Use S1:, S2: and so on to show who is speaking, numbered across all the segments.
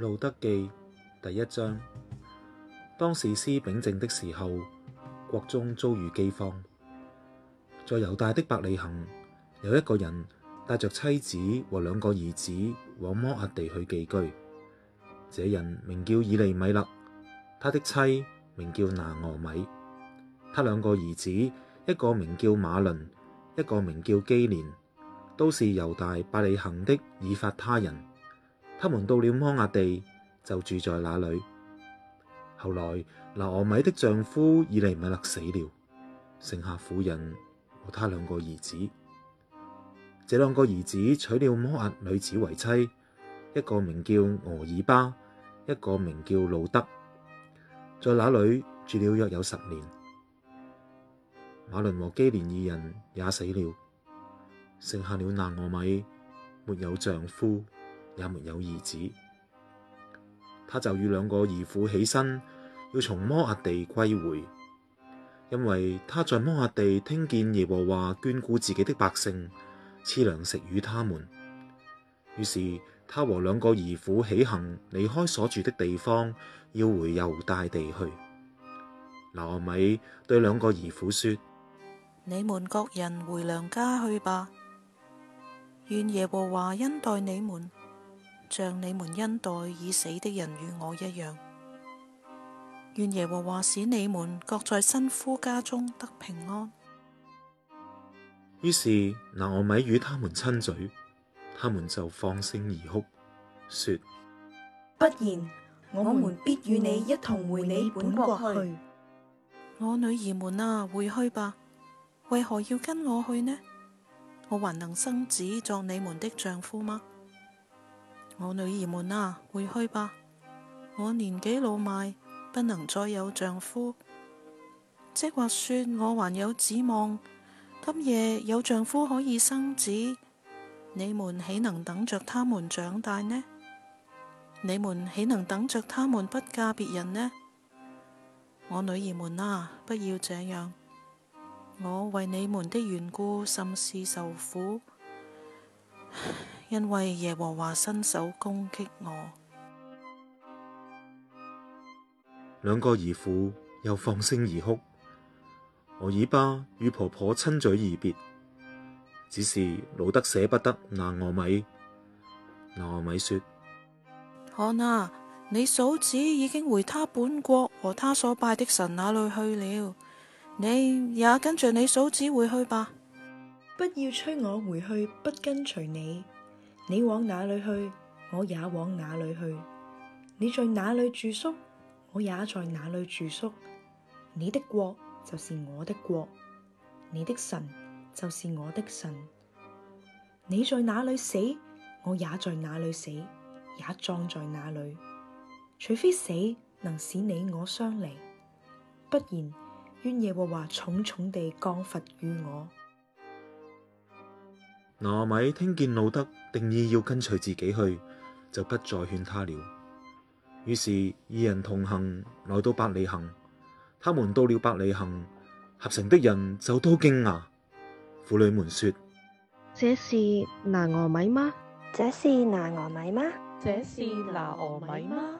S1: 路得記第1章。當士師秉政的時候，國中遭遇饑荒。在猶大的伯利恆，有一個人帶着妻子和2個兒子往摩押地去寄居。這人名叫以利米勒，他的妻名叫拿俄米。他2個兒子，一個名叫馬倫，一個名叫基連，都是猶大伯利恆的以法他人。他們到了摩押地，就住在那裡。後來拿俄米的丈夫以利米勒死了，剩下婦人和他2個兒子。這2個兒子娶了摩押女子為妻，一個名叫俄爾巴，一個名叫路得，在那裡住了約有10年。馬倫和基連2人也死了，剩下了拿俄米，沒有丈夫，也沒有兒子。他就與2個兒婦起身，要從摩押地歸回，因為他在摩押地聽見耶和華眷顧自己的百姓，賜糧食與他們。於是他和2個兒婦起行，離開所住的地方，要回猶大地去。拿俄米對2個兒婦說：
S2: 你們各人回娘家去吧，願耶和華恩待你們，像你們恩待已死的人與我一樣。願耶和華使你們各在新夫家中得平安。
S1: 於是拿俄米與他們親嘴，他們就放聲而哭，說：
S3: 不然，我們必與你一同回你本國去。
S2: 我女兒們啊，回去吧，為何要跟我去呢？我還能生子作你們的丈夫嗎？我女兒們啊，回去吧，我年紀老邁，不能再有丈夫。即或說我還有指望，今夜有丈夫可以生子，你們豈能等着他們長大呢？你們豈能等着他們不嫁別人呢？我女兒們啊，不要這樣，我為你們的緣故甚是受苦，因為耶和華伸手攻擊我。
S1: 2個兒婦又放聲而哭。俄爾巴與婆婆親嘴而別，只是路得捨不得拿俄米。拿俄米說：
S2: 看啊，你嫂子已經回他本國和他所拜的神那裡去了，你也跟着你嫂子回去吧。
S3: 不要催我回去，不跟隨你。你往哪裡去，我也往哪裡去。你在哪裡住宿，我也在哪裡住宿。你的國就是我的國，你的神就是我的神。你在哪裡死，我也在哪裡死，也葬在哪裡。除非死能使你我相離，不然願耶和華重重地降罰於我。
S1: 拿俄米聽見路得定意要跟隨自己去，就不再勸他了。於是2人同行，來到伯利恆。他們到了伯利恆，合城的人就都驚訝。婦女們說：
S4: 這是拿俄米嗎？
S5: 這是拿俄米嗎？
S6: 這是拿俄米嗎？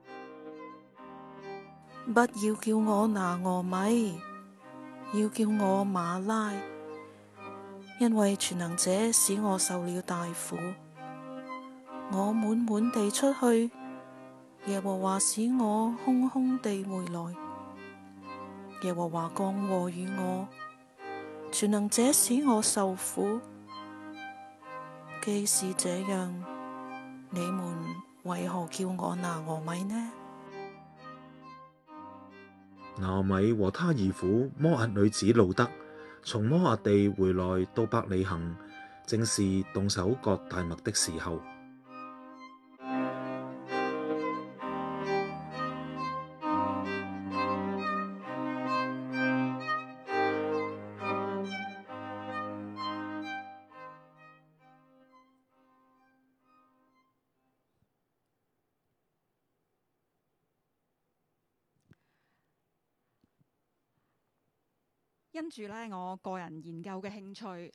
S2: 不要叫我拿俄米，要叫我瑪拉，因為全能者使我受了大苦。我滿滿地出去，耶和華使我空空地回來。耶和華降禍與我，全能者使我受苦。既是這樣，你們為何叫我拿俄米呢？
S1: 拿俄米和他兒婦摩押女子路得從摩押地回來到伯利恆，正是動手割大麥的時候。
S7: 因住呢，我個人研究嘅興趣，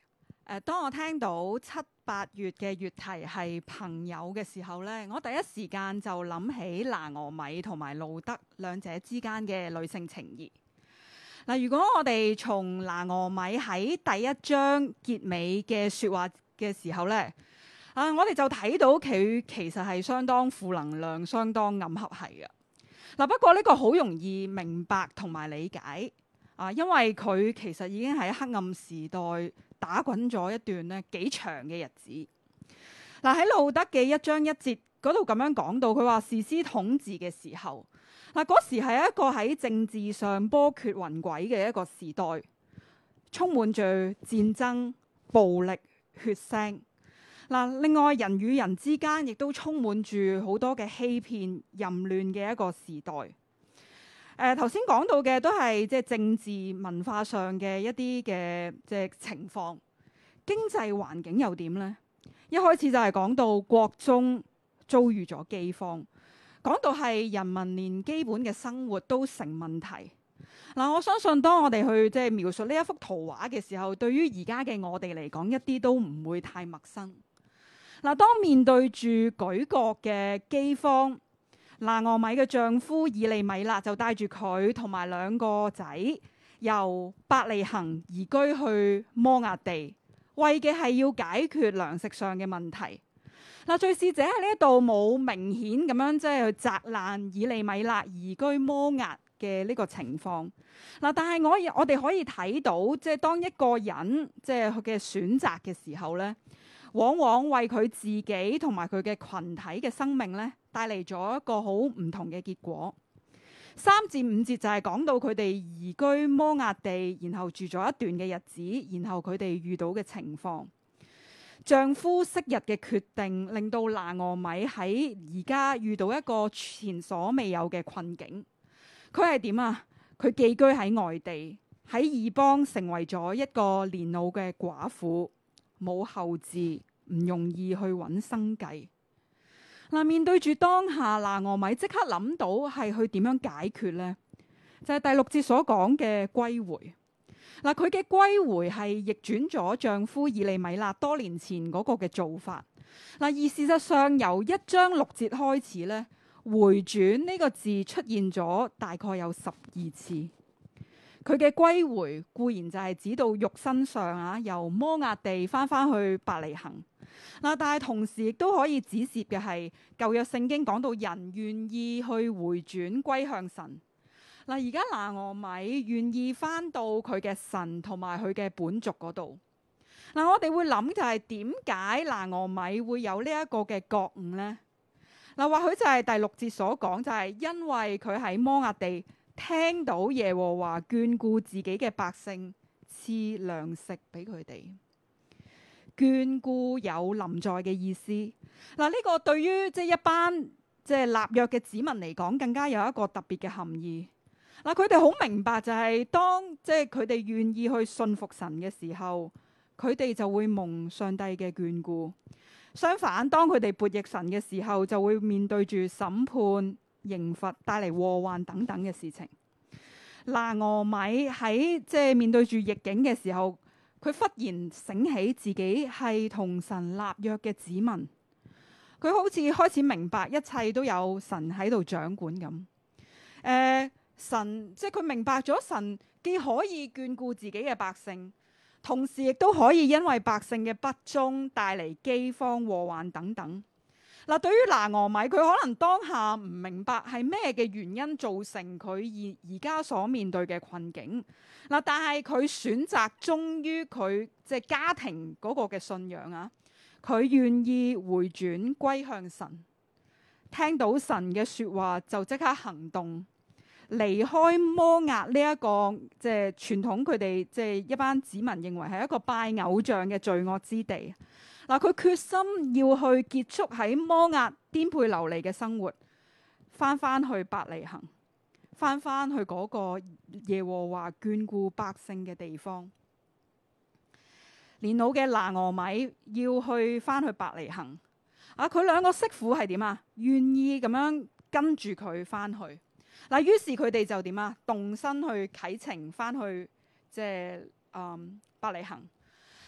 S7: 當我聽到7、8月嘅月題係朋友嘅時候呢，我第一時間就諗起拿俄米同埋路德兩者之間嘅女性情誼。嗱，如果我哋從拿俄米喺第一章結尾嘅説話嘅時候呢，我哋就睇到佢其實係相當負能量、相當暗黑系嘅。嗱，不過呢個好容易明白同埋理解因為佢其實已經喺黑暗時代打滾咗一段咧幾長嘅日子。嗱，喺路德嘅1章1節嗰度咁樣講到，佢話士師統治嘅時候，嗰時係一個喺政治上波譎雲詭嘅一個時代，充滿住戰爭、暴力、血腥。另外人與人之間亦都充滿住好多嘅欺騙、淫亂嘅一個時代。頭先講到嘅都係即係政治文化上嘅一啲嘅即係情況，經濟環境又點呢？一開始就係講到國中遭遇咗饑荒，講到係人民連基本嘅生活都成問題。我相信當我哋去即係描述呢一幅圖畫嘅時候，對於而家嘅我哋嚟講，一啲都唔會太陌生。當面對住舉國嘅饑荒，拿俄米嘅丈夫以利米勒就帶住佢同埋2個仔由伯利恆移居去摩押地，為嘅係要解決糧食上嘅問題。敘事者喺呢一度冇明顯咁樣即係去責難以利米勒移居摩押嘅呢個情況。但係我哋可以睇到，即係當一個人即係佢嘅選擇嘅時候呢，往往為佢自己同埋佢嘅群體嘅生命呢，帶嚟咗一個好唔同嘅結果。3至5節就係講到佢哋移居摩押地，然後住咗一段嘅日子，然後佢哋遇到嘅情況。丈夫昔日嘅決定，令到拿俄米喺而家遇到一個前所未有嘅困境。佢係點啊？佢寄居喺外地，喺異邦成為咗一個年老嘅寡婦，冇後嗣，唔容易去揾生計。面對住當下，拿俄米即刻諗到係去點樣解決呢？就係第6節所講嘅歸回。佢嘅歸回係逆轉咗丈夫以利米勒多年前嗰個嘅做法。而事實上由1章6節開始呢，回轉呢個字出現咗大概有12次。佢嘅歸回固然就係指到肉身上由摩押地翻去伯利恆。但係同時亦都可以指涉嘅係舊約聖經講到人願意去回轉歸向神。而家拿俄米願意翻到佢嘅神同埋佢嘅本族嗰度。我哋會諗就係點解拿俄米會有呢一個嘅覺悟呢？或許就係第6節所講，就係因為佢喺摩押地聽到耶和華眷顧自己嘅百姓，賜糧食俾佢哋。眷顧有臨在嘅意思。呢個對於即係一班即係立約嘅子民嚟講，更加有一個特別嘅含義。佢哋好明白就係當即係佢哋願意去信服神嘅時候，佢哋就會蒙上帝嘅眷顧。相反，當佢哋悖逆神嘅時候，就會面對住審判、刑罰、帶嚟禍患等等嘅事情。拿俄米喺即係面對住逆境嘅時候，佢忽然醒起自己係同神立約嘅子民，佢好似開始明白一切都有神喺度掌管咁。神即係佢明白咗神既可以眷顧自己嘅百姓，同時亦都可以因為百姓嘅不忠帶嚟饑荒、禍患等等。對於拿俄米，佢可能當下唔明白係咩嘅原因造成佢而家所面對嘅困境。但係佢選擇忠於佢即係家庭嗰個嘅信仰佢願意回轉歸向神，聽到神嘅說話就即刻行動。離開摩押呢一個即係傳統，佢哋即係一班子民認為係一個拜偶像嘅罪惡之地。佢決心要去結束喺摩押顛沛流離嘅生活，翻去伯利恆，翻去嗰個耶和華眷顧百姓嘅地方。年老嘅拿俄米要去翻去伯利恆，佢2個媳婦係點啊？願意咁樣跟住佢翻去。於是佢哋就點啊？動身去啟程翻去即係伯利恆。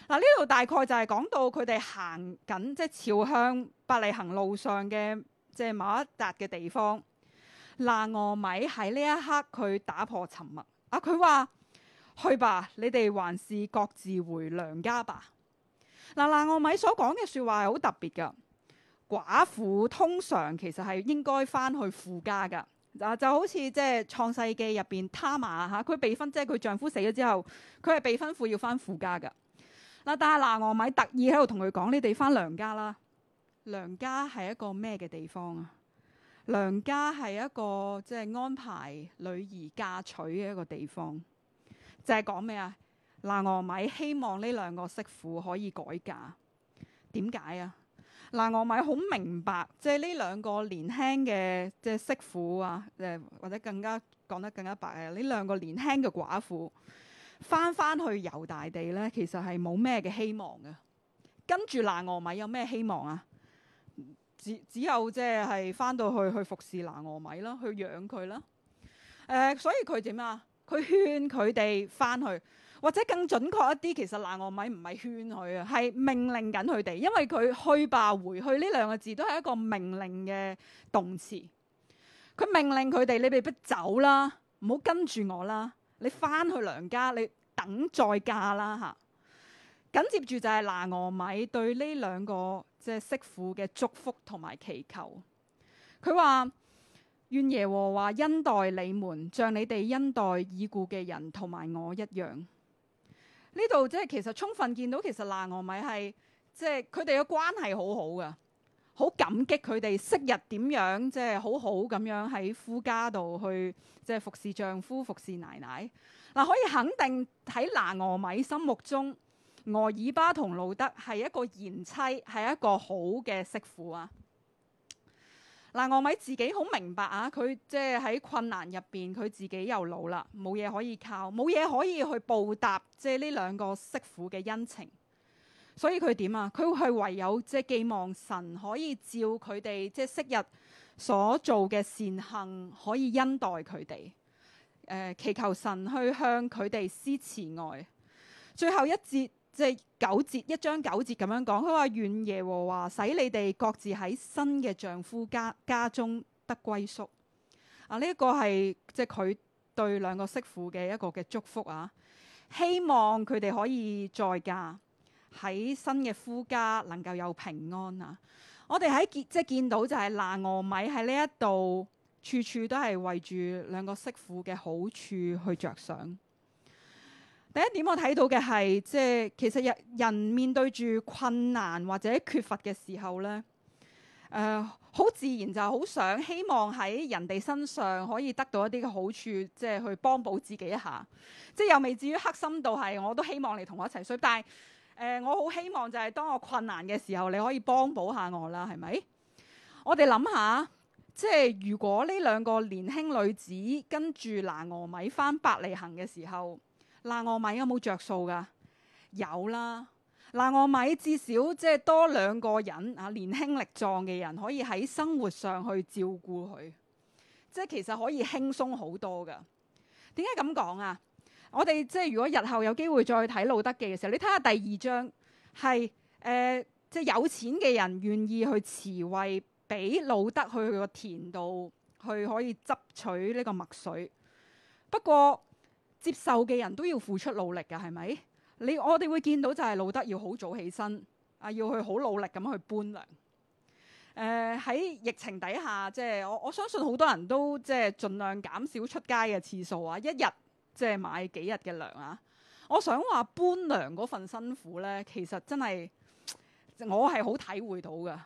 S7: 呢度大概就係講到佢哋行緊，即係朝向伯利恆路上嘅即係某一笪嘅地方。拿俄米喺呢一刻佢打破沉默啊！佢話：去吧，你哋還是各自回娘家吧。拿俄米所講嘅説話係好特別㗎。寡婦通常其實係應該翻去父家㗎。就好似即係創世記入邊他瑪嚇，佢被吩，即係佢丈夫死咗之後，佢係被吩咐要翻父家㗎。但係拿俄米特意喺度同佢講：你哋翻娘家啦。娘家係一個咩嘅地方啊？娘家係一個即係安排女兒嫁娶嘅一個地方。就係講咩啊？拿俄米希望呢兩個媳婦可以改嫁。點解啊？拿俄米好明白，即係呢兩個年輕嘅即係媳婦啊，或者更加講得更加白嘅，呢兩個年輕嘅寡婦翻去猶大地咧，其實係冇咩嘅希望嘅。跟住拿俄米有咩希望啊？只有即係翻到去服侍拿俄米啦，去養佢啦。所以佢點啊？佢勸佢哋翻去。或者更準確一啲，其實拿俄米唔係勸佢啊，係命令緊佢哋，因為佢去吧回去呢兩個字都係一個命令嘅動詞。佢命令佢哋：你哋不走啦，唔好跟住我啦，你翻去娘家，你等再嫁啦嚇。緊接住就係拿俄米對呢兩個即係媳婦嘅祝福同埋祈求。佢話：願耶和華恩待你們，像你哋恩待已故嘅人同埋我一樣。呢度即係其實充分見到，其實拿俄米係即係佢哋嘅關係好好㗎，好感激佢哋昔日點樣即係好好咁樣喺夫家度去即係服侍丈夫、服侍奶奶。可以肯定喺拿俄米心目中，俄爾巴同路得係一個賢妻，係一個好嘅媳婦啊。拿俄米自己好明白啊，佢即係喺困難入邊，佢自己又老啦，冇嘢可以靠，冇嘢可以去報答即係呢兩個媳婦嘅恩情，所以佢點啊？佢係唯有即係寄望神可以照佢哋即係昔日所做嘅善行，可以恩待佢哋，祈求神去向佢哋施慈愛。最後一節。即係1章9節咁樣講，佢話：願耶和華使你哋各自喺新嘅丈夫家中得歸宿。呢一個係即係佢對兩個媳婦嘅一個嘅祝福啊！希望佢哋可以再嫁喺新嘅夫家，能夠有平安啊！我哋喺即係見到就係拿俄米喺呢一度處處都係為住兩個媳婦嘅好處去着想。第一點我睇到嘅係，即係其實人面對住困難或者缺乏嘅時候咧，好自然就好想希望喺人哋身上可以得到一啲嘅好處，即係去幫補自己一下。即係又未至於黑心到係我都希望你同我一齊衰，但係我好希望就係當我困難嘅時候，你可以幫補下我啦，係咪？我哋諗下，即係如果呢兩個年輕女子跟住拿俄米返伯利恆嘅時候，拿俄米有冇着數噶？有啦，拿俄米至少即係多兩個人啊，年輕力壯嘅人可以喺生活上去照顧佢，即係其實可以輕鬆好多噶。點解咁講啊？我哋即係如果日後有機會再睇路得記嘅時候，你睇下第2章係即係有錢嘅人願意去慈惠，俾路得去佢個田度去可以執取呢個麥穗。不過接受嘅人都要付出努力㗎，係咪？我哋會見到就係路得要好早起身啊，要去好努力咁去搬糧。喺疫情底下，即係我相信好多人都即係盡量減少出街嘅次數啊，一日即係買幾日嘅糧啊。我想話搬糧嗰份辛苦咧，其實真係我係好體會到㗎。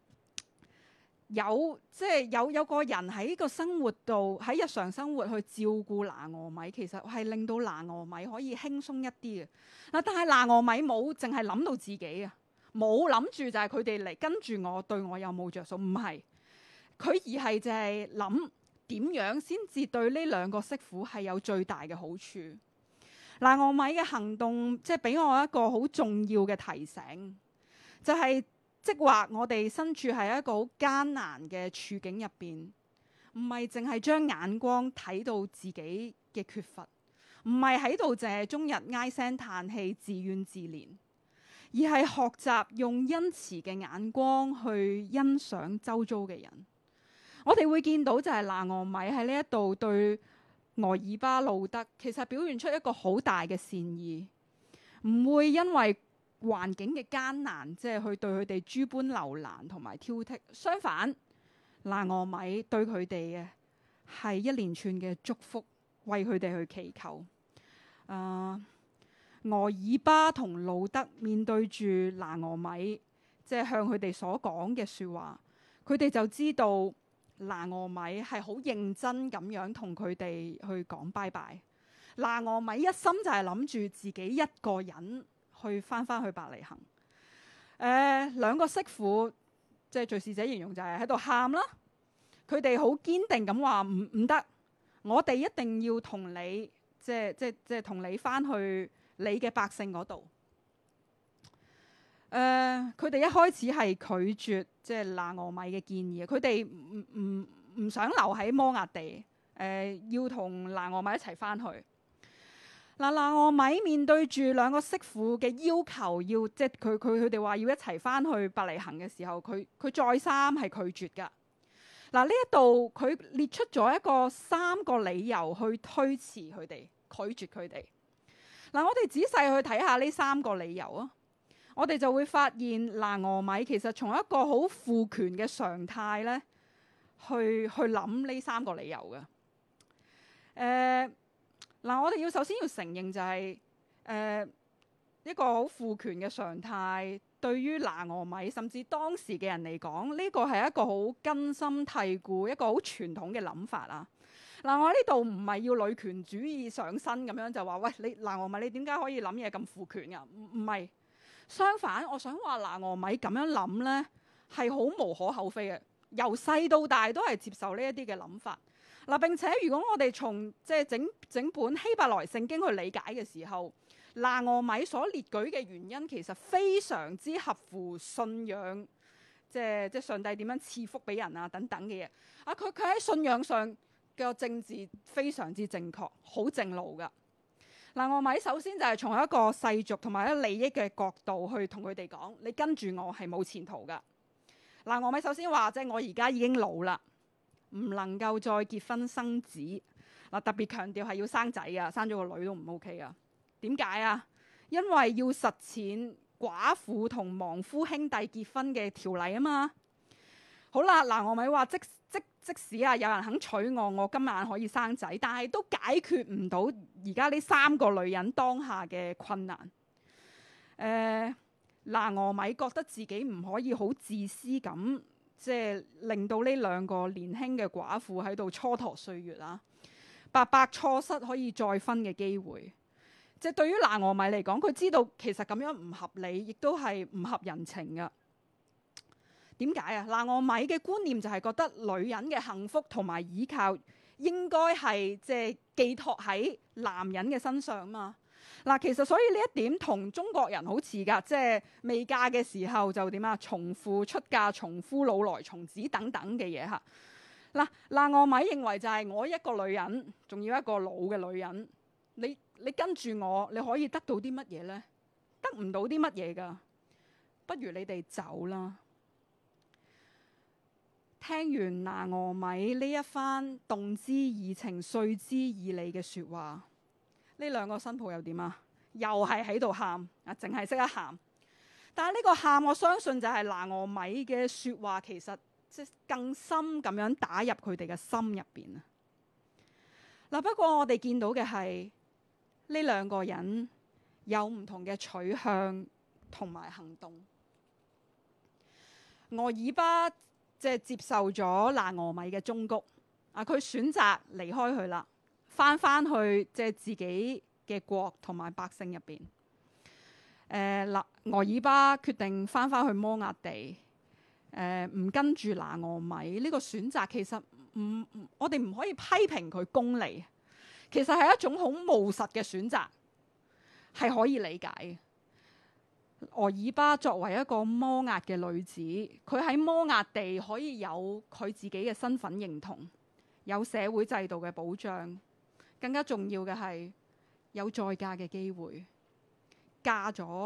S7: 即係有個人喺個生活度，喺日常生活去照顧拿俄米，其實係令到拿俄米可以輕鬆一啲嘅。但係拿俄米冇淨係諗到自己啊，冇諗住就係佢哋嚟跟住我，對我有冇着數？唔係，佢而係就係諗點樣先至對呢兩個媳婦係有最大嘅好處。拿俄米嘅行動即係俾我一個好重要嘅提醒，就係即係話我哋身處喺一個好艱難嘅處境入邊，唔係淨係將眼光睇到自己嘅缺乏，唔係喺度淨係終日唉聲嘆氣、自怨自憐， 而係學習用恩慈嘅眼光去欣賞周遭嘅人。我哋會見到就係拿俄米喺呢一度對俄珥巴、路得，其實表現出一個好大嘅善意，唔會因為環境嘅艱難，即係去對佢哋諸般留難同埋挑剔。相反，拿俄米對佢哋嘅係一連串嘅祝福，為佢哋去祈求。俄珥巴同路得面對住拿俄米，即係向佢哋所講嘅說話，佢哋就知道拿俄米係好認真咁樣同佢哋去講拜拜。拿俄米一心就係諗住自己一個人去翻去伯利恆。兩個媳婦，即係敘事者形容就係喺度喊啦。佢哋好堅定咁話唔得，我哋一定要同你，即係同你翻去你嘅百姓嗰度。佢哋一開始係拒絕即係拿俄米嘅建議，佢哋唔想留喺摩押地，要同拿俄米一齊翻去。拿俄米面對住兩個媳婦嘅要求，即係佢哋話要一齊翻去伯利恆嘅時候，佢再三係拒絕噶。呢一度佢列出咗3個理由去推辭佢哋，拒絕佢哋。我哋仔細去睇下呢3個理由啊，我哋就會發現拿俄米其實從一個好父權嘅常態咧，去諗呢3個理由嘅。我哋首先要承認就係一個好父權嘅常態，對於拿俄米甚至當時嘅人嚟講，呢個係一個好根深蒂固、一個好傳統嘅諗法啊。我呢度唔係要女權主義上身咁樣就話，喂，你拿俄米你點解可以諗嘢咁父權㗎？唔係，相反，我想話拿俄米咁樣諗呢係好無可厚非嘅，由細到大都係接受呢一啲嘅諗法。並且如果我哋從即係整本希伯來聖經去理解嘅時候，拿俄米所列舉嘅原因其實非常之合乎信仰，即係上帝點樣賜福俾人啊等等嘅嘢。佢喺信仰上嘅政治非常之正確，好正路噶。拿俄米首先就係從一個世俗同埋一利益嘅角度去同佢哋講，你跟住我係冇前途噶。拿俄米首先話，即係我而家已經老啦，唔能夠再結婚生子。特別強調係要生仔啊，生咗個女都唔 OK 啊。點解啊？因為要實踐寡婦同亡夫兄弟結婚嘅條例啊嘛。好啦，拿俄米話即使有人肯娶我今晚可以生仔，但係都解決唔到而家呢3個女人當下嘅困難。拿俄米覺得自己唔可以好自私咁，即係令到呢2個年輕嘅寡婦喺度蹉跎歲月啊，白白錯失可以再婚嘅機會。即係對於拿俄米嚟講，佢知道其實咁樣唔合理，亦都係唔合人情噶。點解啊？拿俄米嘅觀念就係覺得女人嘅幸福同埋依靠應該係即係寄託喺男人嘅身上嘛。其實所以呢一點同中國人好似噶，即係未嫁嘅時候就點啊？從父出嫁，從夫老來從子等等嘅嘢嚇。拿俄米認為就係我一個女人，仲要一個老嘅女人，你跟住我，你可以得到啲乜嘢呢？得唔到啲乜嘢噶？不如你哋走啦。聽完拿俄米呢一番動之以情、說之以理嘅說話，呢2個新抱又點啊？又係喺度喊啊，淨係識得喊。但係呢個喊，我相信就係拿俄米嘅說話，其實即係更深咁樣打入佢哋嘅心入邊啊。不過我哋見到嘅係呢2個人有唔同嘅取向同埋行動。俄珥巴即係接受咗拿俄米嘅忠告，佢選擇離開佢啦，翻去即係自己嘅國同埋百姓入邊。俄珥巴決定翻去摩押地，唔跟住拿俄米呢個選擇，其實我哋唔可以批評佢功利，其實係一種好務實嘅選擇，係可以理解嘅。俄珥巴作為一個摩押嘅女子，佢喺摩押地可以有佢自己嘅身份認同，有社會制度嘅保障，更加重要嘅係有再嫁嘅機會，嫁咗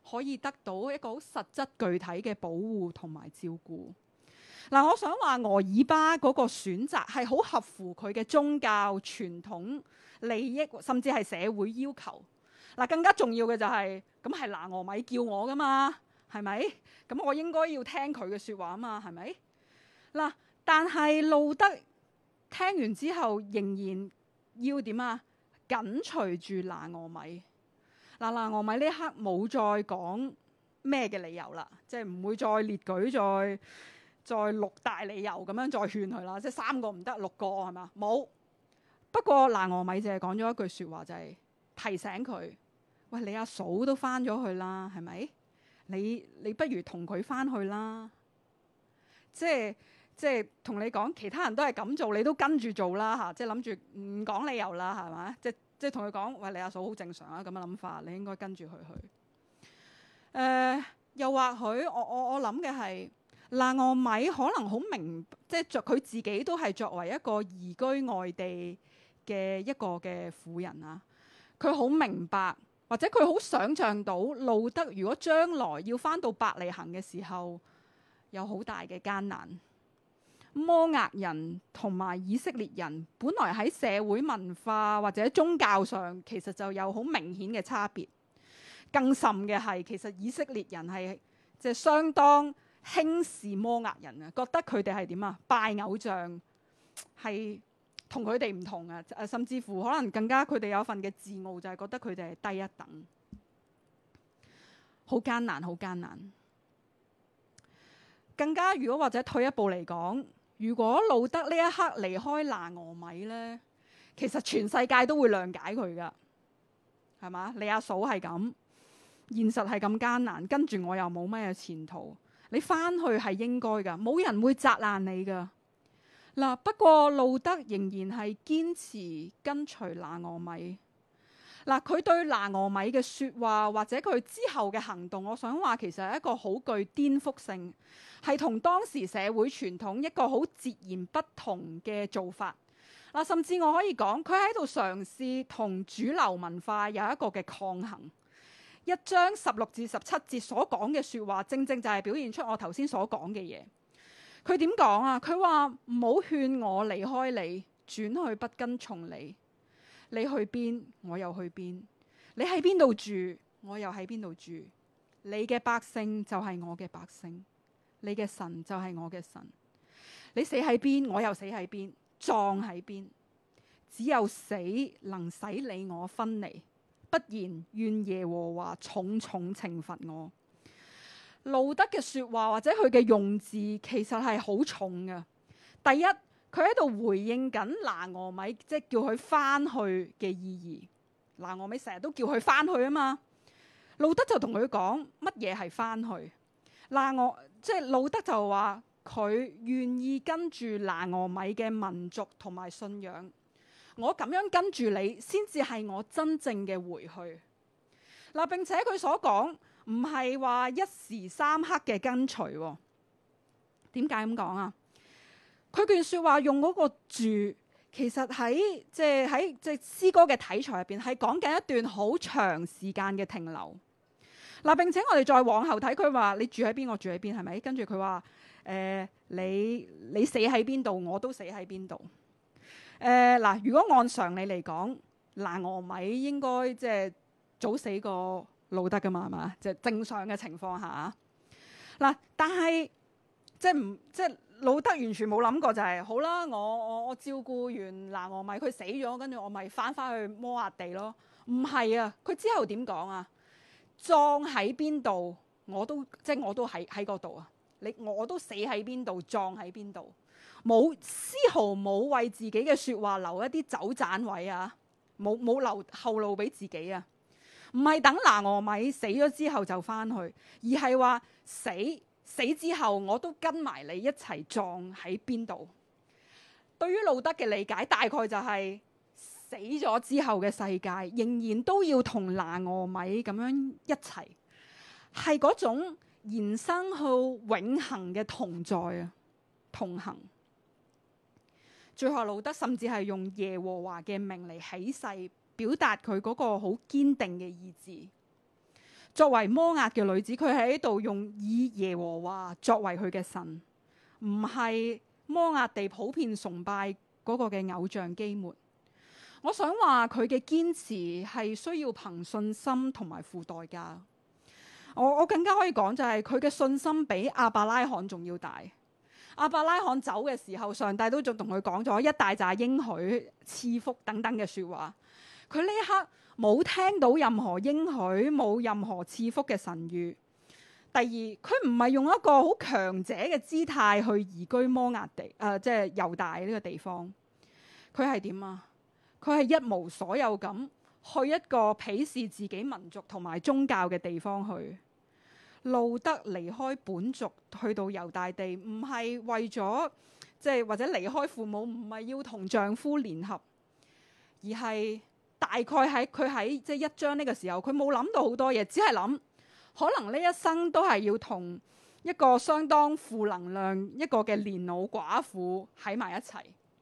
S7: 可以得到一個好實質具體嘅保護同埋照顧。嗱，我想話俄爾巴嗰個選擇係好合乎佢嘅宗教傳統利益，甚至係社會要求。嗱，更加重要嘅就係咁係拿俄米叫我噶嘛，係咪？咁我應該要聽佢嘅説話啊嘛，係咪？嗱，但係路德聽完之後仍然要點啊？緊隨住拿俄米。嗱，拿俄米呢一刻冇再講咩嘅理由啦，即係唔會再列舉再6大理由咁樣再勸佢啦，即係3個唔得6個係嘛？冇。不過拿俄米淨係講咗一句説話，就係提醒佢：喂，你阿嫂都翻咗去啦，係咪？你不如同佢翻去啦。即係同你講，其他人都係咁做，你都跟住做啦嚇。即係諗住唔講理由啦，係咪？即係同佢講：喂，你阿嫂好正常啊，咁嘅諗法，你應該跟住佢去。又或許我諗嘅係，拿俄米可能好明，即係佢自己都係作為一個移居外地嘅一個嘅婦人啊，佢好明白，或者佢好想像到路德如果將來要返到伯利恆嘅時候，有好大嘅艱難。摩押人同埋以色列人本來喺社會文化或者宗教上其實就有好明顯嘅差別。更甚嘅係，其實以色列人係即係相當輕視摩押人啊，覺得佢哋係點啊？拜偶像係同佢哋唔同啊，甚至乎可能更加佢哋有份嘅自傲，就係覺得佢哋係低一等，好艱難，好艱難。更加如果或者退一步嚟講，如果路德呢一刻離開拿俄米呢，其實全世界都會諒解佢噶，係嘛？你阿嫂係咁，現實係咁艱難，跟住我又冇咩前途，你翻去係應該噶，冇人會責難你噶。嗱，不過路德仍然係堅持跟隨拿俄米。嗱，佢對拿俄米嘅説話或者佢之後嘅行動，我想話其實係一個好具顛覆性，係同當時社會傳統一個好截然不同嘅做法。嗱，甚至我可以講，佢喺度嘗試同主流文化有一個嘅抗衡。1章16至17節所講嘅説話，正正就係表現出我頭先所講嘅嘢。佢點講啊？佢話唔好勸我離開你，轉去不跟從你。你去邊，我又去邊；你喺邊度住，我又喺邊度住。你嘅百姓就係我嘅百姓，你嘅神就係我嘅神。你死喺邊，我又死喺邊，葬喺邊。只有死能使你我分離，不然願耶和華重重懲罰我。路德嘅說話或者佢嘅用字其實係好重嘅。第一，佢喺度回應緊拿俄米，即係叫佢翻去嘅意義。拿俄米成日都叫佢翻去啊嘛。路德就同佢講乜嘢係翻去？即係路德就話佢願意跟住拿俄米嘅民族同埋信仰。我咁樣跟住你，先至係我真正嘅回去。嗱，並且佢所講唔係話一時三刻嘅跟隨。點解咁講啊？佢段說話用嗰個住，其實喺即係詩歌嘅題材入邊，係講緊一段好長時間嘅停留。嗱，並且我哋再往後睇，佢話你住喺邊，我住喺邊，係咪？跟住佢話你死喺邊度，我都死喺邊度。嗱，如果按常理嚟講，拿俄米應該即係早死過路德噶嘛，係嘛？即係正常嘅情況下。嗱，但係即係路德完全冇諗過就係好啦，我照顧完拿俄米，佢死咗，跟住我咪翻去摩押地咯。唔係啊，佢之後點講啊？葬喺邊度，我都喺嗰度啊！我都死喺邊度，葬喺邊度，冇絲毫冇為自己嘅説話留一啲走盞位啊！冇留後路俾自己啊！唔係等拿俄米死咗之後就翻去，而係話死之後我都跟埋你一齊葬喺邊度。對於路德嘅理解，大概就係死咗之後嘅世界仍然都要同拿俄米咁樣一齊，係嗰種延伸去永恆嘅同在啊，同行。最後路德甚至係用耶和華嘅名嚟起誓，表達佢嗰個好堅定嘅意志。 作為摩押嘅女子，佢喺度用以耶和華作為佢嘅神，唔係摩押地普遍崇拜嗰個嘅偶像基抹。我想話佢嘅堅持係需要憑信心同埋付代價。我更加可以講就係佢嘅信心比亞伯拉罕仲要大。亞伯拉罕走嘅時候，上帝都仲同佢講咗一大紮應許、賜福等等嘅說話。佢呢一刻冇聽到任何應許，冇任何賜福嘅神諭。第二，佢唔係用一個好強者嘅姿態去移居摩押地，即係猶大呢個地方。佢係點啊？佢係一無所有咁去一個鄙視自己民族同埋宗教嘅地方去。路得離開本族去到猶大地，唔係為咗或者離開父母，唔係要同丈夫聯合，而係大概喺佢喺1章呢個時候，佢冇諗到好多嘢，只係諗可能呢一生都係要同一個相當負能量一個嘅年老寡婦喺埋一齊。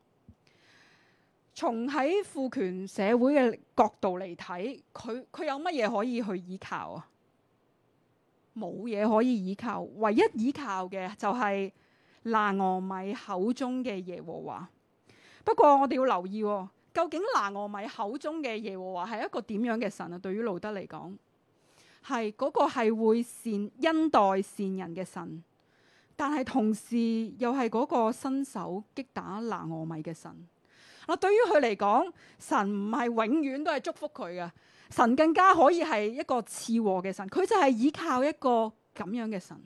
S7: 從喺父權社會嘅角度嚟睇，佢有乜嘢可以去依靠啊？冇嘢可以依靠，唯一依靠嘅就係拿俄米口中嘅耶和華。不過我哋要留意，究竟拿俄米口中嘅耶和華係一個點樣嘅神啊？對於路得嚟講，係嗰個係會恩待善人嘅神，但係同時又係嗰個伸手擊打拿俄米嘅神。對於佢嚟講，神唔係永遠都係祝福佢嘅。神更加可以係一個賜禍嘅神，佢就係依靠一個咁樣嘅神。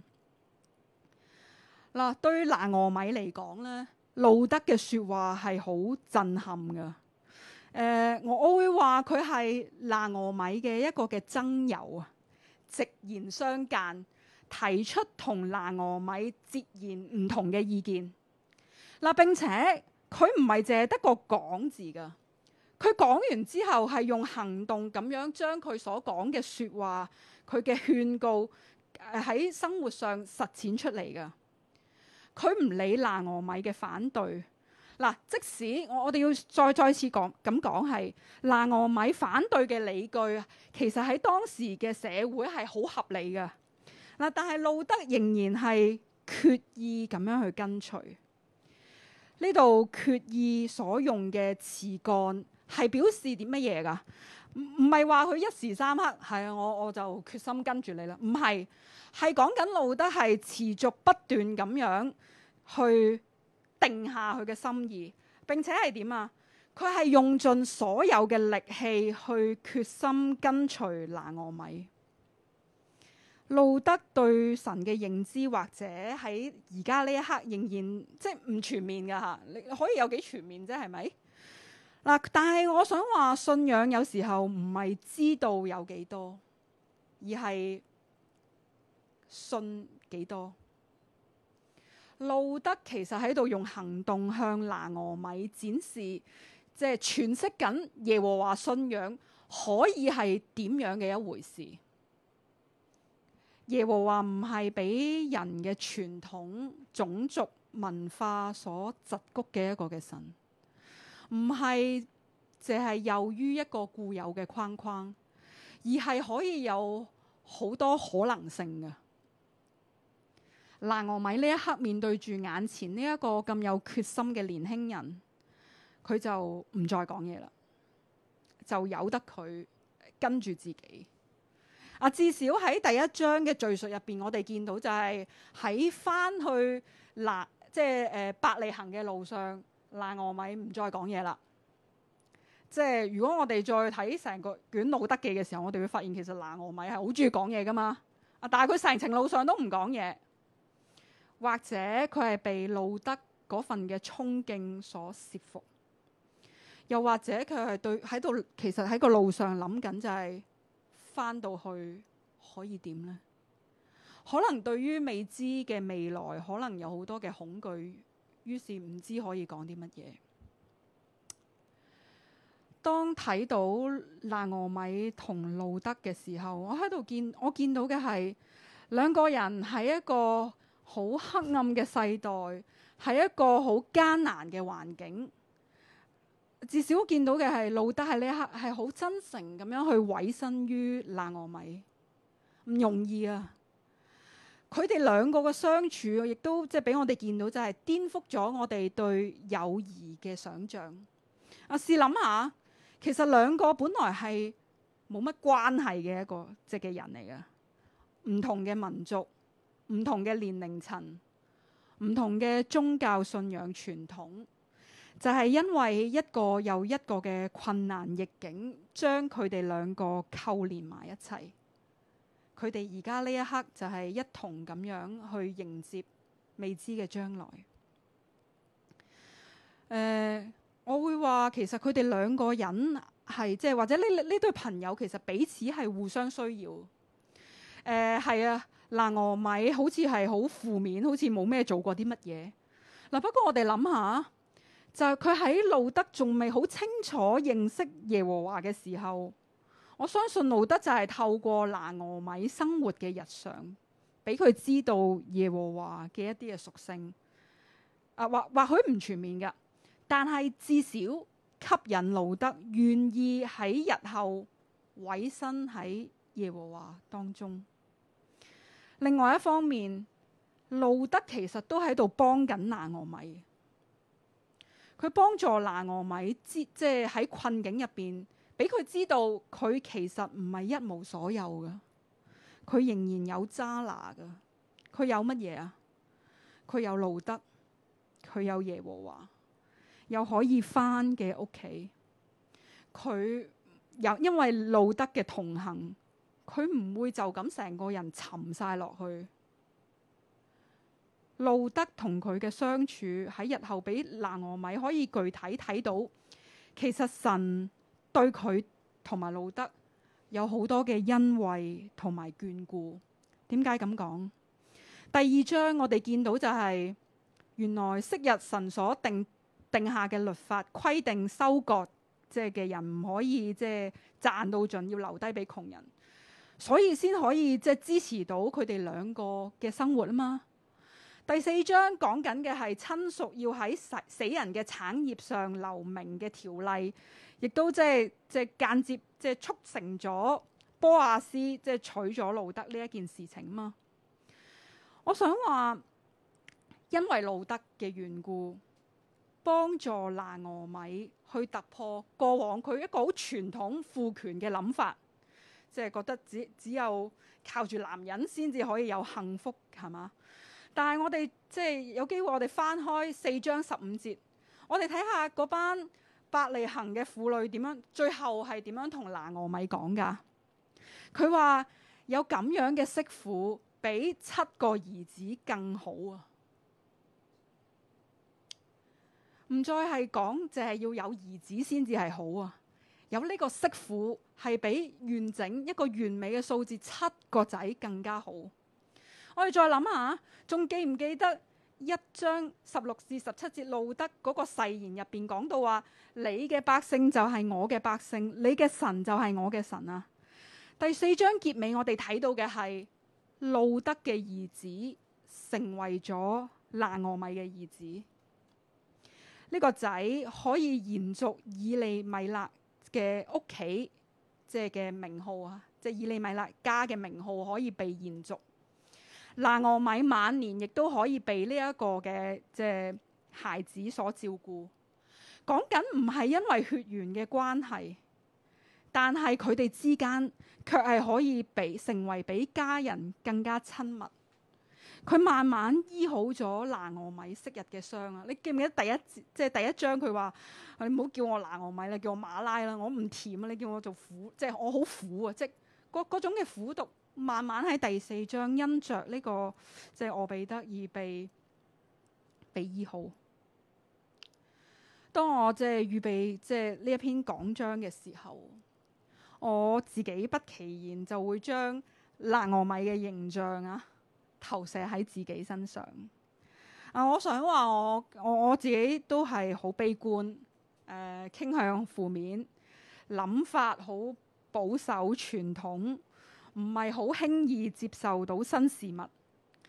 S7: 對於拿俄米嚟講咧，路得嘅說話係好震撼噶。我會話佢係拿俄米嘅一個嘅諍友啊，直言相間，提出同拿俄米截然唔同嘅意見。並且佢唔係淨係得個講字噶。佢講完之後係用行動咁樣將佢所講嘅說話，佢嘅勸告喺生活上實踐出嚟㗎。佢唔理拿俄米嘅反對。即使我哋要再次講咁講，係拿俄米反對嘅理據，其實喺當時嘅社會係好合理㗎。但係路得仍然係決意咁樣去跟隨。呢度決意所用嘅詞幹係表示啲乜嘢㗎？唔係話佢一時三刻係啊，我就決心跟住你啦。唔係，係講緊路得係持續不斷咁樣去定下佢嘅心意，並且係點啊？佢係用盡所有嘅力氣去決心跟隨拿俄米。路得對神嘅認知或者喺而家呢一刻仍然唔全面㗎嚇。你可以有幾全面啫？係咪？但係我想話信仰有時候唔係知道有幾多，而係信幾多。路得其實喺度用行動向拿俄米展示，詮釋緊耶和華信仰可以係點樣嘅一回事。耶和華唔係俾人嘅傳統、種族、文化所桎梏嘅一個嘅神，唔係淨係囿於一個固有嘅框框，而係可以有好多可能性嘅。拿俄米呢一刻面對住眼前呢一個咁有決心嘅年輕人，佢就唔再講嘢啦，就由得佢跟住自己。至少喺第一章嘅敘述入邊，我哋見到就係喺翻去伯利恆嘅路上，拿俄米唔再講嘢啦。如果我哋再睇成個卷路得記嘅時候，我哋會發現其實拿俄米係好中意講嘢噶嘛。但係佢成程路上都唔講嘢，或者佢係被路得嗰份嘅衝勁所懾服，又或者佢係喺度，其實喺個路上諗緊就係翻到去可以點呢？可能對於未知嘅未來，可能有好多嘅恐懼，於是唔知可以講啲乜嘢。當睇到拿俄米同路得嘅時候，我見到嘅係兩個人喺一個好黑暗嘅世代，係一個好艱難嘅環境。至少見到嘅係路得喺呢一刻係好真誠咁樣去委身於拿俄米， 唔容易啊！佢哋兩個嘅相處，亦都即係俾我哋見到，就係顛覆咗我哋對友誼嘅想像。試諗下，其實兩個本來係冇乜關係嘅一個嘅人嚟嘅，唔同嘅民族、唔同嘅年齡層、唔同嘅宗教信仰傳統，就係因為一個又一個嘅困難逆境，將佢哋兩個扣連埋一齊。佢哋而家呢一刻就係一同咁樣去迎接未知嘅將來。我會話其實佢哋兩個人係即係或者呢對朋友其實彼此係互相需要。係啊，拿俄米好似係好負面，好似冇咩做過啲乜嘢。不過我哋諗下，就係佢喺路德仲未好清楚認識耶和華嘅時候，我相信路德就係透過拿俄米生活嘅日常，俾佢知道耶和華嘅一啲嘅屬性。或許唔全面㗎，但係至少吸引路德願意喺日後委身喺耶和華當中。另外一方面，路德其實都喺度幫緊拿俄米，佢幫助拿俄米即係喺困境入邊，俾佢知道佢其實唔係一無所有嘅，佢仍然有揸拿嘅。佢有乜嘢啊？佢有路德，佢有耶和華，有可以返嘅屋企。佢有因為路德嘅同行，佢唔會就咁成個人沉晒落去。路德同佢嘅相處喺日後俾拿俄米可以具體睇到，其實神對佢同埋路德有好多嘅恩惠同埋眷顧。點解咁講？第二章我哋見到就係、原來昔日神所定下嘅律法規定收割嘅人唔可以賺到盡，要留低俾窮人，所以先可以支持到佢哋兩個嘅生活啊嘛。第四章講緊嘅係親屬要喺死人嘅產業上留名嘅條例，亦都間接促成咗波亞斯娶咗路德呢一件事情嘛。我想話，因為路德嘅緣故，幫助拿俄米去突破過往佢一個好傳統父權嘅諗法，覺得只有靠住男人先至可以有幸福，係嘛？但係我哋有機會，我哋翻開4章15節，我哋睇下嗰班伯利恆嘅婦女點樣，最後係點樣同拿俄米講㗎？佢話有咁樣嘅媳婦，比7個兒子更好啊！唔再係講，淨係要有兒子先至係好啊！有呢個媳婦係比完整一個完美嘅數字7個仔更加好。我哋再諗下，仲記唔記得1章16至17節路德嗰個誓言入邊講到話，你嘅百姓就係我嘅百姓，你嘅神就係我嘅神啊！第4章結尾我哋睇到嘅係路德嘅兒子成為咗拿俄米嘅兒子，呢個仔可以延續以利米勒嘅屋企嘅名號啊，以利米勒家嘅名號可以被延續。拿俄米晚年亦都可以被呢一個嘅孩子所照顧。講緊唔係因為血緣嘅關係，但係佢哋之間卻係可以成為比家人更加親密。佢慢慢醫好咗拿俄米昔日嘅傷啊！你記唔記得第一章佢話：你唔好叫我拿俄米啦，叫我馬拉啦，我唔甜啊！你叫我做苦，我好苦啊！嗰種嘅苦毒。慢慢喺第4章因着呢個俄備德而被醫好。當我預備呢一篇講章嘅時候，我自己不其然就會將拿俄米嘅形象投射喺自己身上。我想話我自己都係好悲觀，傾向負面，諗法好保守傳統。唔係好輕易接受到新事物，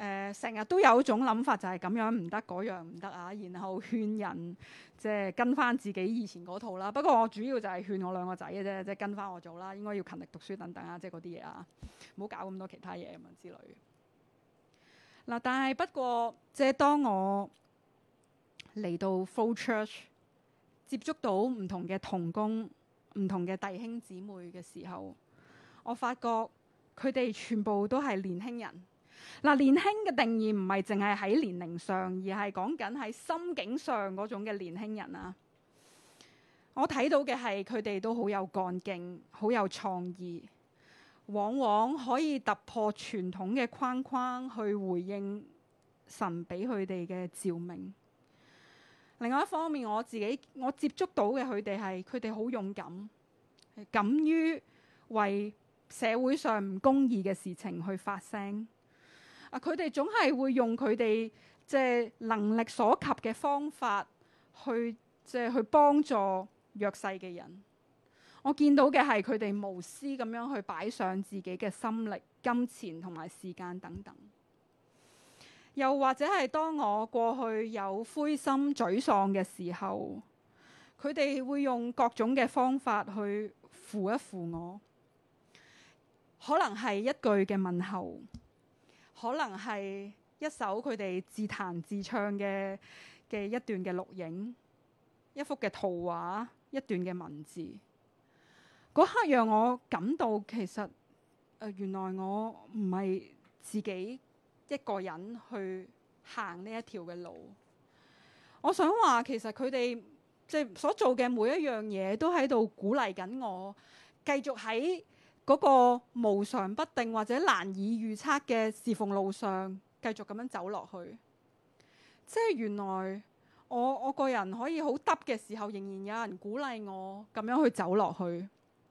S7: 成日都有一種諗法，就係咁樣唔得，嗰樣唔得啊，然後勸人即係跟翻自己以前嗰套啦。不過我主要就係勸我兩個仔嘅啫，即係跟翻我做啦，應該要勤力讀書等等啊，即係嗰啲嘢啊，唔好搞咁多其他嘢咁之類。嗱，但係不過即係當我嚟到 Flow Church 接觸到唔同嘅同工、唔同嘅弟兄姊妹嘅時候，我發覺佢哋全部都係年輕人。嗱，年輕嘅定義唔係淨係喺年齡上，而係講緊喺心境上嗰種嘅年輕人啊。我睇到嘅係佢哋都好有幹勁，好有創意，往往可以突破傳統嘅框框去回應神俾佢哋嘅召命。另外一方面，我接觸到嘅佢哋好勇敢，敢於為社會上唔公義嘅事情去發聲。佢哋總係會用佢哋即係能力所及嘅方法去幫助弱勢嘅人。我見到嘅係佢哋無私咁樣去擺上自己嘅心力、金錢同埋時間等等。又或者係當我過去有灰心沮喪嘅時候，佢哋會用各種嘅方法去扶一扶我。可能係一句嘅問候，可能係一首佢哋自彈自唱嘅一段嘅錄影，一幅嘅圖畫，一段嘅文字。嗰刻讓我感到其實原來我唔係自己一個人去行呢一條嘅路。我想話其實佢哋即係所做嘅每一樣嘢都喺度鼓勵緊我，繼續喺嗰個無常不定或者難以預測嘅侍奉路上繼續咁樣走落去。即係原來我個人可以好耷嘅時候，仍然有人鼓勵我咁樣去走落去。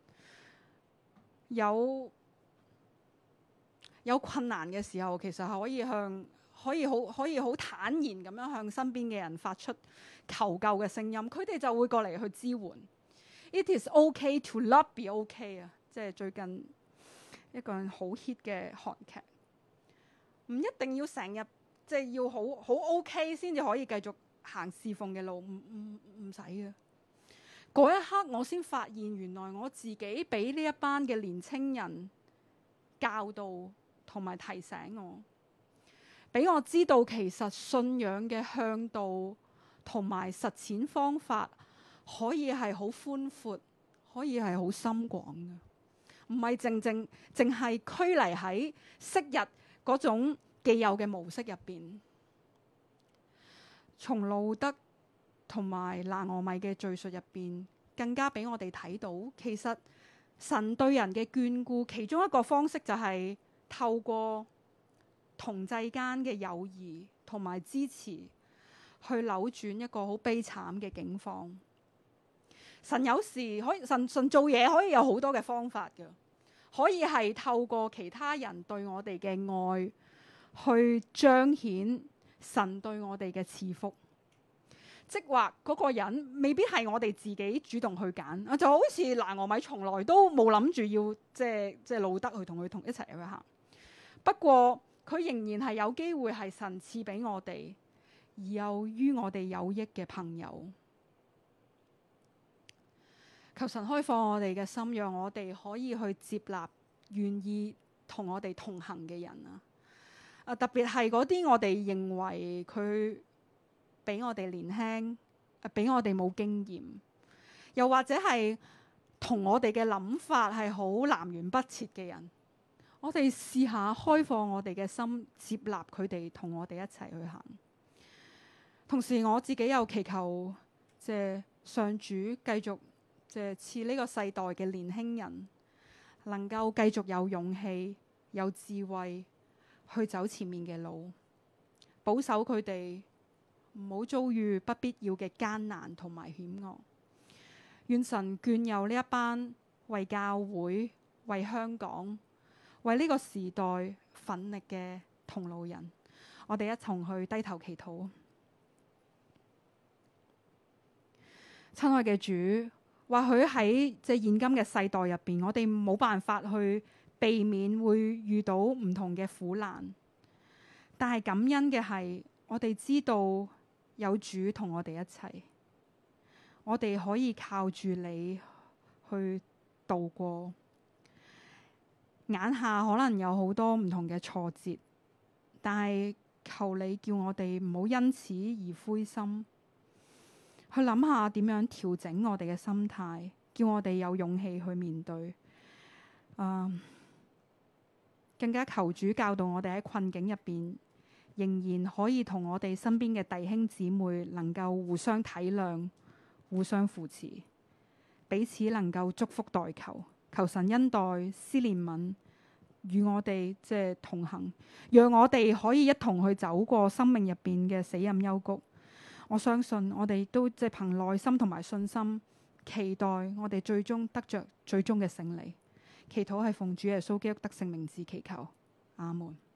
S7: 有困難嘅時候，其實係可以好坦然咁樣向身邊嘅人發出求救嘅聲音，佢哋就會過嚟去支援。It is okay to not be okay 啊！即係最近一個好 hit 嘅韓劇，唔一定要成日即係要好 OK 先至可以繼續行侍奉嘅路，唔使嘅。嗰一刻我先發現，原來我自己俾呢一班嘅年青人教導同埋提醒我，俾我知道其實信仰嘅向導同埋實踐方法可以係好寬闊，可以係好深廣嘅。唔係淨係拘泥喺昔日嗰種既有嘅模式入邊。從路德同埋拿俄米嘅敘述入邊，更加俾我哋睇到，其實神對人嘅眷顧，其中一個方式就係透過同濟間嘅友誼同埋支持，去扭轉一個好悲慘嘅境況。神有時神做嘢可以有好多嘅方法嘅，可以係透過其他人對我哋嘅愛，去彰顯神對我哋嘅賜福。即或嗰個人未必係我哋自己主動去揀，就好似拿俄米從來都冇諗住要即係路德去同佢一齊去行。不過佢仍然係有機會係神賜俾我哋，而又於我哋有益嘅朋友。求神開放我哋嘅心，讓我哋可以去接納願意同我哋同行嘅人啊！特別係嗰啲我哋認為佢比我哋年輕，比我哋冇經驗，又或者係同我哋嘅諗法係好南轅北轍嘅人，我哋試下開放我哋嘅心，接納佢哋同我哋一齊去行。同時我自己又祈求，即係上主繼續即係賜呢個世代嘅年輕人，能夠繼續有勇氣、有智慧去走前面嘅路，保守佢哋唔好遭遇不必要嘅艱難同埋險惡。願神眷佑呢一班為教會、為香港、為呢個時代奮力嘅同路人。我哋一同去低頭祈禱。親愛嘅主，或許喺即係現今嘅世代入邊，我哋冇辦法去避免會遇到唔同嘅苦難， 但係感恩嘅係，我哋知道有主同我哋一齊，我哋可以靠住你去度過。眼下可能有好多唔同嘅挫折，但係求你叫我哋唔好因此而灰心，去諗下點樣調整我哋嘅心態，叫我哋有勇氣去面對。更加求主教導我哋喺困境入邊，仍然可以同我哋身邊嘅弟兄姊妹能夠互相體諒、互相扶持，彼此能夠祝福代求。求神恩待、施憐憫，與我哋同行，讓我哋可以一同去走過生命入邊嘅死蔭幽谷。我相信我哋都憑耐心同埋信心，期待我哋最終得着最終嘅勝利。祈禱係奉主耶穌基督得勝名字祈求，阿門。